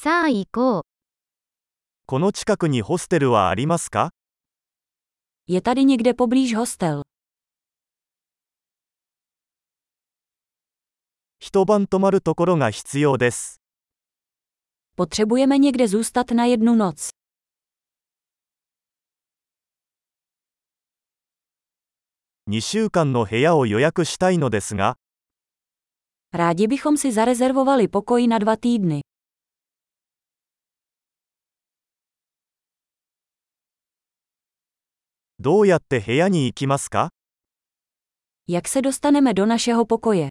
さあ行こう。 この近くにホステルはありますか？ Je tady někde poblíž hostel. 一晩泊まるところが必要です。 Potřebujeme někde zůstat na jednu noc. 2週間の部屋を予約したいのですが、 Rádi bychom si zarezervovali pokoj na 2 týdny. どうやって部屋に行きますか？ Jak se dostaneme do našeho pokoje?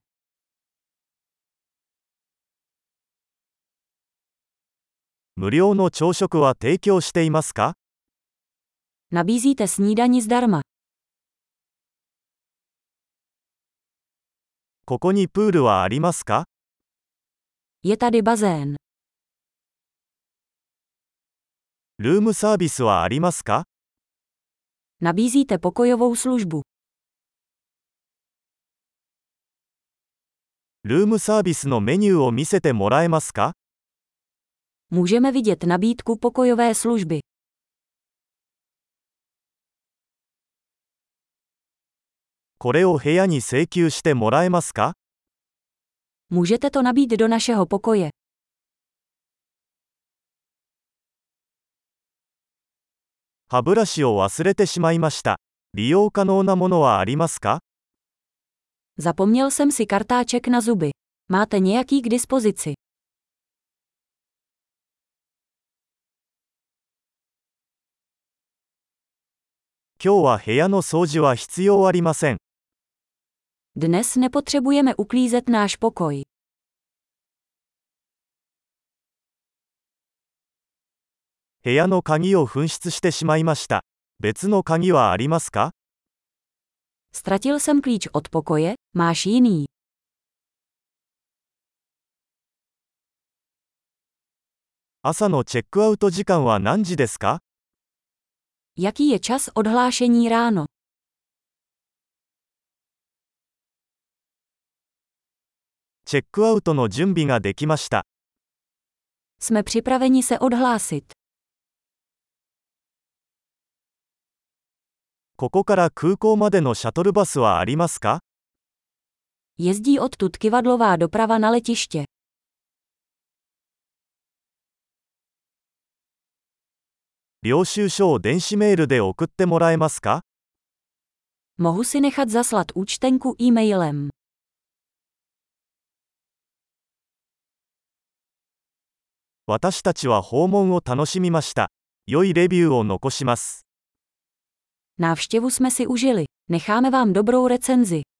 無料の朝食は提供していますか？ Nabízíte snídani zdarma. ここにプールはありますか？ Je tady bazén. ルームサービスはありますか？ Nabízíte pokojovou službu. ルームサービスのメニューを見せてもらえますか？ Můžeme vidět nabídku pokojové služby. これを部屋に請求してもらえますか？ Můžete to nabít do našeho pokoje. 歯ブラシを忘れてしまいました。利用可能なものはありますか？ Zapomněl jsem si kartáček na zuby. Máte nějaký k dispozici? 今日は部屋の掃除は必要ありません。 Dnes nepotřebujeme uklízet náš pokoj. 部屋の鍵を紛失してしまいました。別の鍵はありますか？ Ztratil jsem klíč od pokoje, máš jiný? 朝のチェックアウト時間は何時ですか？ Jaký je čas odhlášení ráno? チェックアウトの準備ができました。 Jsme připraveni se odhlásit. ここから空港までのシャトルバスはありますか？ Jezdí odtud kivadlová doprava na letiště. 領収書を電子メールで送ってもらえますか？ Mohu si nechat zaslat účtenku e-mailem. 私たちは訪問を楽しみました。良いレビューを残します。 Návštěvu jsme si užili. Necháme vám dobrou recenzi.